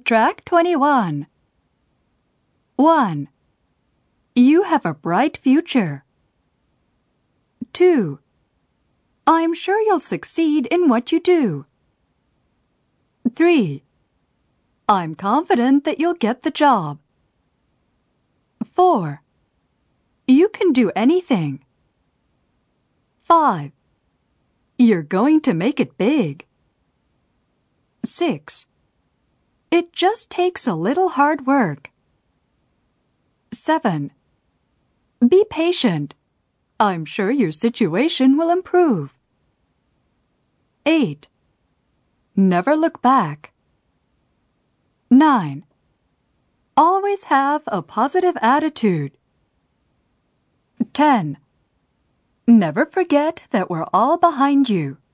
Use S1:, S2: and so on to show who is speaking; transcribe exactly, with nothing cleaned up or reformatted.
S1: Track twenty-one. one. You have a bright future. two. I'm sure you'll succeed in what you do. three. I'm confident that you'll get the job. four. You can do anything. five. You're going to make it big. six. It just takes a little hard work. seven. Be patient. I'm sure your situation will improve. eight. Never look back. nine. Always have a positive attitude. ten. Never forget that we're all behind you.